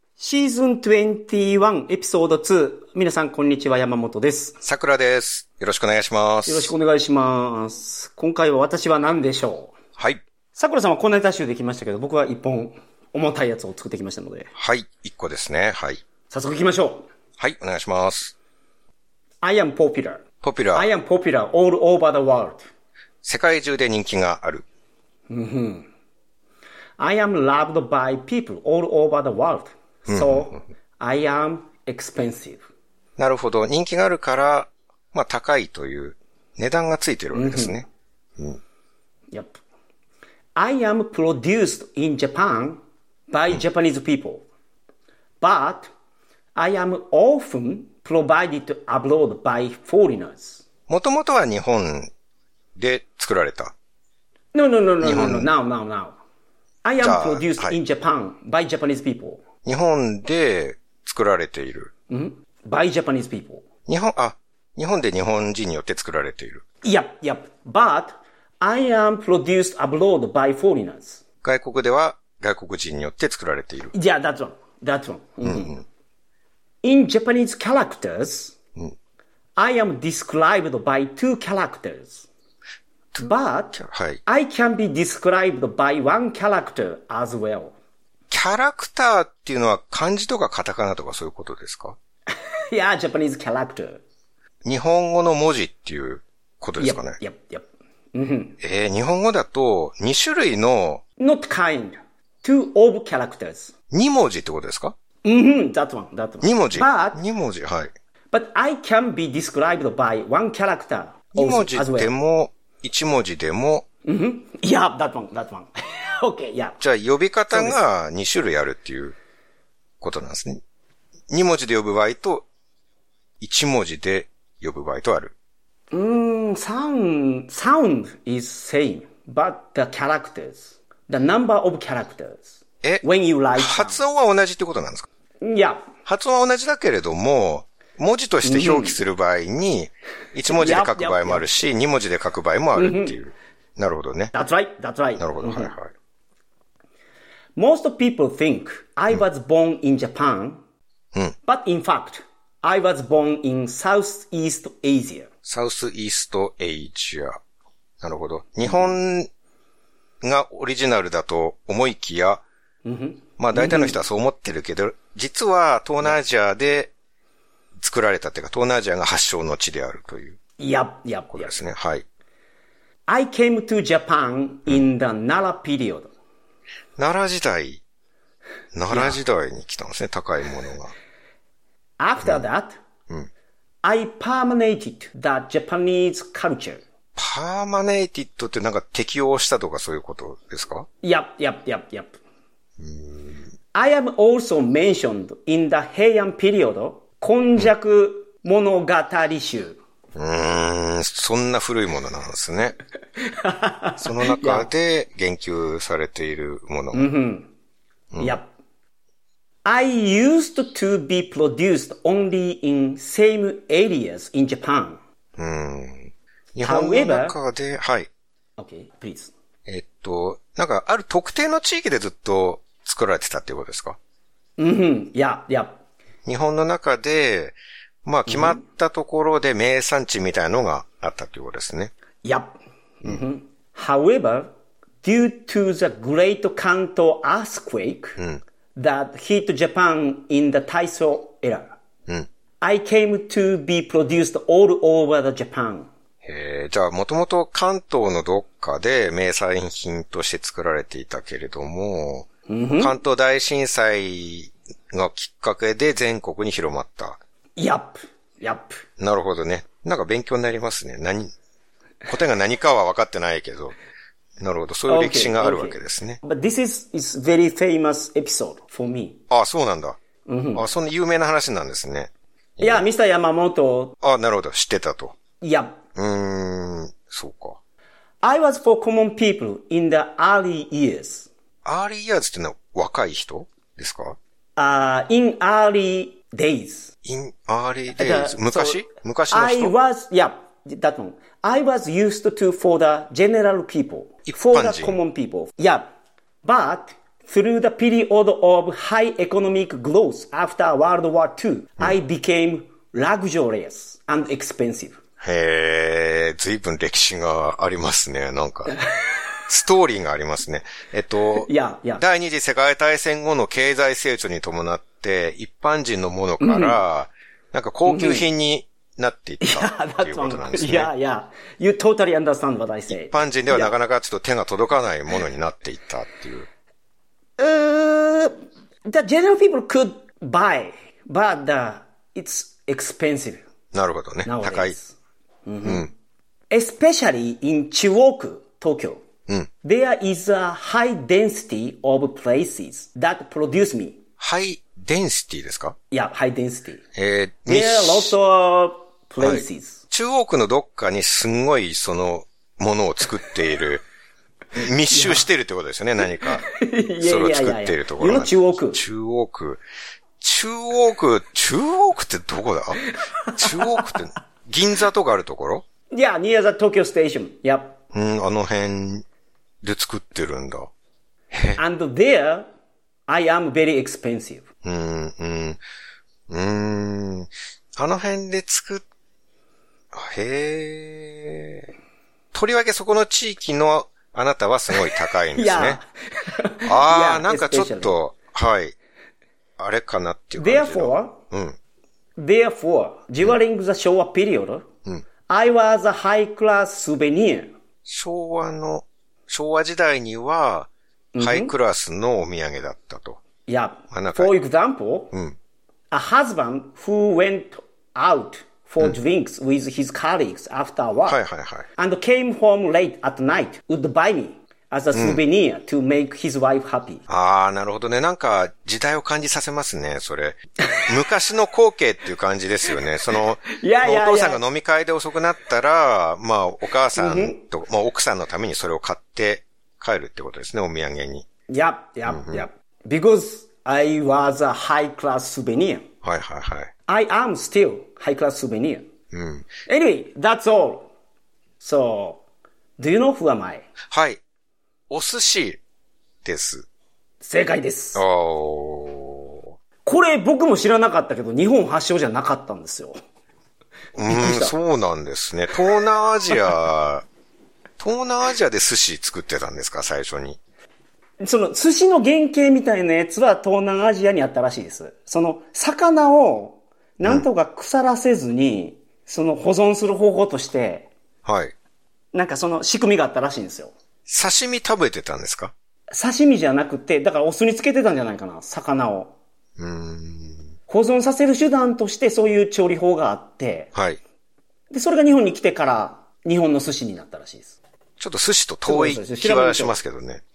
シーズン21エピソード2。皆さんこんにちは、山本です。 さくらです。よろしくお願いします。 よろしくお願いします。今回は私は何でしょう？ はい。 さくらさんは小ネタ集できましたけど、僕は一本重たいやつを作ってきましたので。 はい。一個ですね。はい。 早速行きましょう。 はい、お願いします。 I am popular. popular。 I am popular all over the world. 世界中で人気がある。 I am loved by people all over the world. So, I am expensive. なるほど。人気があるから、まあ高いという値段がついてるわけですね。 Yep. I am produced in Japan by Japanese people. But, I am often provided abroad by foreigners. もともとは日本で作られた。 No. Now. I am produced in Japan by Japanese people. 日本で作られている。 By Japanese people. 日本で日本人によって作られている。 Yep. But, I am produced abroad by foreigners. 外国では外国人によって作られている。 Yeah, that's wrong. In Japanese characters, I am described by two characters. But, はい。 I can be described by one character as well. キャラクターっていうのは漢字とかカタカナとかそういうことですか？ Yeah, Japanese character. 日本語の文字っていうことですかね。 Yep. 日本語だと2種類の Not kind. Two of characters. 2文字ってことですか？ That one. 2文字。 But, 2文字、はい。 but I can be described by one character 2文字 as well. でも、1文字でも、 Yeah, that one. Okay, yeah. じゃあ呼び方が2種類あるっていうことなんですね。2文字で呼ぶ場合と、1文字で呼ぶ場合とある。 Sound is same, but the number of characters. When you write 発音は同じってことなんですか？ Yeah. 発音は同じだけれども、文字として表記する場合に、1文字で書く場合もあるし、2文字で書く場合もあるっていう。なるほどね。 That's right. なるほど、はい。 Most people think I was born in Japan, but in fact, I was born in Southeast Asia. Southeast Asia。なるほど。日本がオリジナルだと思いきや、まあ大体の人はそう思ってるけど、実は東南アジアで作られたっていうか、東南アジアが発祥の地であるという。 Yep. ことですね。はい。 I came to Japan in the Nara period. 奈良時代に来たんですね、高いものが。 After that, I permeated the Japanese culture. パーマネイティッドってなんか適応したとかそういうことですか？ Yep. I am also mentioned in the Heian period, 今昔物語集。 そんな古いものなんですね。その中で言及されているもの。 Yep. I used to be produced only in same areas in Japan. 日本の中で、はい。 Okay, please. なんかある特定の地域でずっと作られてたっていうことですか？ Yeah. 日本の中で、まあ決まったところで名産地みたいなのがあったということですね。 Yep. However, due to the Great Kanto earthquake that hit Japan in the Taisho era, I came to be produced all over the Japan. じゃあもともと関東のどっかで名産品として作られていたけれども、関東大震災がきっかけで全国に広まった。 Yep. なるほどね。なんか勉強になりますね。答えが何かは分かってないけど。なるほど。そういう歴史があるわけですね。 But this is very famous episode for me. あ、そうなんだ。そんな有名な話なんですね。 Yeah, Mr. Yamamoto. なるほど。知ってたと。 Yep. そうか。 I was for common people in the early years. early years ってのは若い人ですか ？in early days. in early days. 昔の人 that one. I was used to for the general people. For the common people. Yeah. But through the period of high economic growth after World War II, I became luxurious and expensive. へー、随分歴史がありますね、なんか。ストーリーがありますね。第二次世界大戦後の経済成長に伴って、一般人のものから、なんか高級品になっていったっていうことなんですね。 You totally understand what I say. 一般人ではなかなかちょっと手が届かないものになっていったっていう。 The general people could buy, but it's expensive. なるほどね。高い。 Especially in 中央区、東京. There is a high density of places that produce me. High density ですか？ Yeah, high density. There are lots of places. 中央区のどっかにすんごいそのものを作っている、密集しているってことですよね、何か。それを作っているところが。 中央区ってどこだ？中央区って銀座とかあるところ？ Yeah, near the Tokyo station. Yep. あの辺で作ってるんだ。 And there, I am very expensive. あの辺でとりわけそこの地域のあなたはすごい高いんですね。なんかちょっと、はい。あれかなっていう感じの。 Therefore, during the Showa period, I was a high-class souvenir. 昭和時代には、ハイクラスのお土産だったと。 Yeah. For example, a husband who went out for drinks with his colleagues after work and came home late at night would buy me as a souvenir to make his wife happy. なるほどね。なんか時代を感じさせますね、それ。昔の光景っていう感じですよね。その、お父さんが飲み会で遅くなったら、まあ、お母さんと、まあ、奥さんのためにそれを買って帰るってことですね、お土産に。 Yep. Because I was a high-class souvenir. I am still high-class souvenir. Anyway, that's all. So, do you know who am I? はい。お寿司です。 正解です。これ僕も知らなかったけど、日本発祥じゃなかったんですよ。 そうなんですね。東南アジアで寿司作ってたんですか、最初に。 その寿司の原型みたいなやつは東南アジアにあったらしいです。その魚をなんとか腐らせずに、その保存する方法として、なんかその仕組みがあったらしいんですよ。 刺身食べてたんですか？ 刺身じゃなくて、だからお酢につけてたんじゃないかな、魚を。保存させる手段としてそういう調理法があって、で、それが日本に来てから日本の寿司になったらしいです。 ちょっと寿司と遠い気はしますけどね。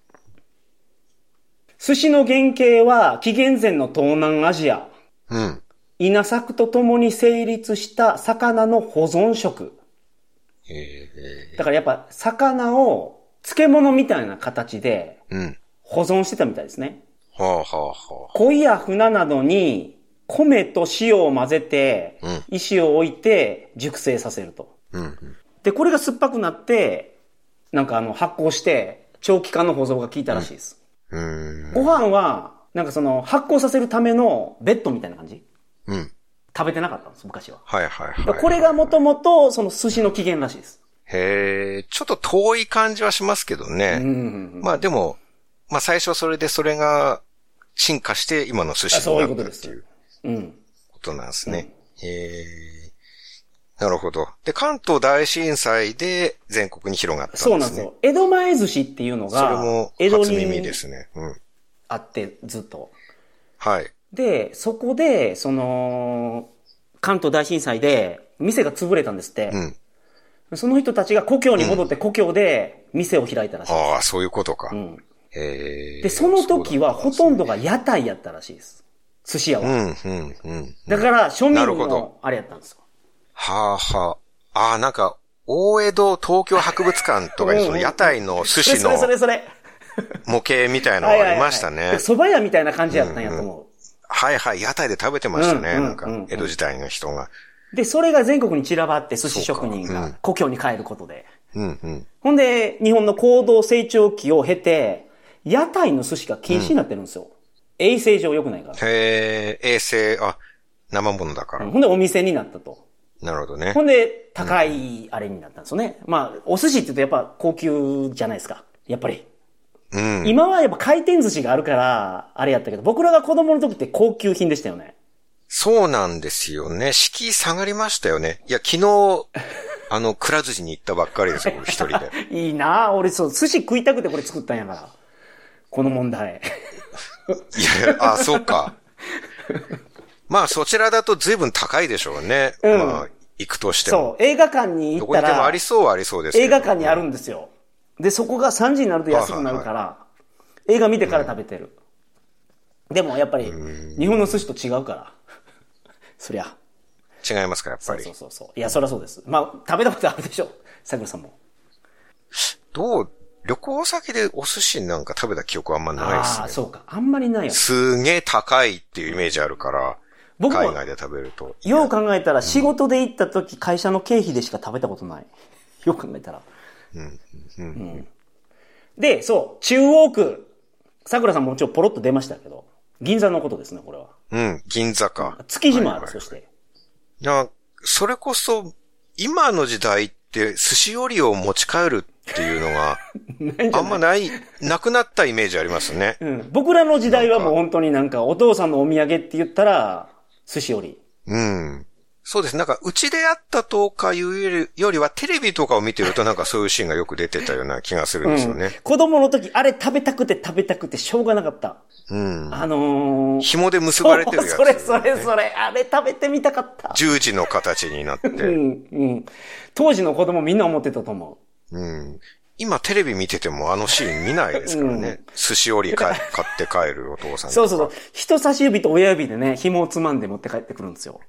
寿司の原型は紀元前の東南アジア。稲作とともに成立した魚の保存食。だからやっぱ魚を漬物みたいな形で保存してたみたいですね。鯉や船などに米と塩を混ぜて石を置いて熟成させると。で、これが酸っぱくなってなんか発酵して長期間の保存が効いたらしいです。ご飯はなんかその発酵させるためのベッドみたいな感じ。食べてなかったんです、昔は。これがもともとその寿司の起源らしいです。 ちょっと遠い感じはしますけどね。まあでも、まあ最初それが進化して今の寿司になったっていうことなんですね。なるほど。で、関東大震災で全国に広がったんですね。 そうなんですよ。江戸前寿司っていうのが、 それも初耳ですね。 あって、ずっと。 はい。 で、そこで、関東大震災で店が潰れたんですって。その人たちが故郷に戻って故郷で店を開いたらしいです。 そういうことか。 で、その時はほとんどが屋台やったらしいです。寿司屋は。だから、庶民のあれやったんですよ。 なんか、大江戸東京博物館とかにその屋台の寿司の模型みたいなのがありましたね。 蕎麦屋みたいな感じやったんやと思う。 屋台で食べてましたね。なんか、江戸時代の人が。 で、それが全国に散らばって寿司職人が故郷に帰ることで。ほんで、日本の高度成長期を経て、 屋台の寿司が禁止になってるんですよ。衛生上良くないから。 へー、衛生、生ものだから。 ほんでお店になったと。 なるほどね。 ほんで、高いあれになったんですよね。まあ、お寿司って言うとやっぱ高級じゃないですか。やっぱり。 うん。 今はやっぱ回転寿司があるから、あれやったけど、僕らが子供の時って高級品でしたよね。 そうなんですよね。敷居下がりましたよね。いや、昨日、くら寿司に行ったばっかりですよ、一人で。 いいなぁ。俺そう、寿司食いたくてこれ作ったんやから。この問題。 いや、そうか。まあ、そちらだと随分高いでしょうね。 うん。 まあ、行くとしても。 そう、映画館に行ったら。 どこにでもありそうはありそうですけど。 映画館にあるんですよ。で、そこが3時になると安くなるから、映画見てから食べてる。でもやっぱり、日本の寿司と違うから。そりゃ。 違いますか、やっぱり。 そう。いや、そりゃそうです。まあ、食べたことあるでしょ。桜さんも。 旅行先でお寿司なんか食べた記憶はあんまないですね。 そうか。あんまりないよ。 すげえ高いっていうイメージあるから、海外で食べると。 よう考えたら、仕事で行った時、会社の経費でしか食べたことない。よく考えたら。で、そう、中央区。桜さんもちろんポロッと出ましたけど、銀座のことですね、これは。 うん、銀座か。 築地もある、そして。 いや、それこそ、今の時代って寿司折りを持ち帰るっていうのが、あんまなくなったイメージありますね。 うん。僕らの時代はもう本当になんかお父さんのお土産って言ったら、寿司折り。 うん。そうです。なんか、うちでやったとかいうよりは、テレビとかを見てるとなんかそういうシーンがよく出てたような気がするんですよね。 子供の時、あれ食べたくてしょうがなかった。 うん。紐で結ばれてるやつ、 ね。それ。あれ食べてみたかった。 十字の形になって。 当時の子供みんな思ってたと思う。今テレビ見ててもあのシーン見ないですからね。寿司折り買って帰るお父さんとか。 そう。人差し指と親指でね、紐をつまんで持って帰ってくるんですよ。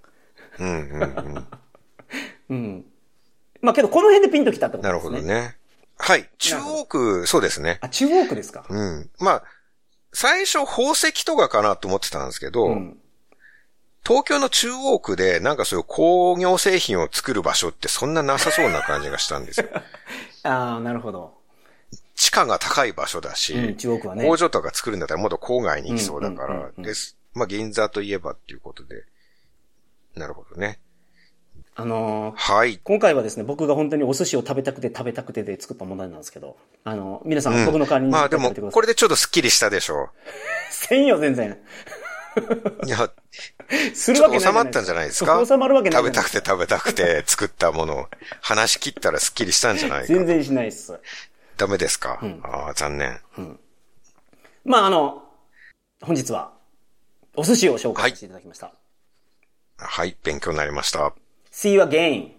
まあけどこの辺でピンときたってことですね。 なるほどね。はい。中央区、そうですね。 中央区ですか。 まあ、最初宝石とかかなと思ってたんですけど、東京の中央区でなんかそういう工業製品を作る場所ってそんななさそうな感じがしたんですよ。 なるほど。 地価が高い場所だし、 中央区はね。 工場とか作るんだったらもっと郊外に行きそうだからです。まあ銀座といえばっていうことで。なるほどね。 はい。今回はですね、僕が本当にお寿司を食べたくてで作った問題なんですけど、皆さん僕の代わりにまあでも、これでちょっとスッキリしたでしょう。 せんよ、全然。 いや、 するわけない。 ちょっと収まったんじゃないですか。 収まるわけない。 食べたくて作ったものを話し切ったらスッキリしたんじゃないか。 全然しないっす。 ダメですか。残念。 まあ本日は、お寿司を紹介していただきました。 はい、勉強になりました。 See you again.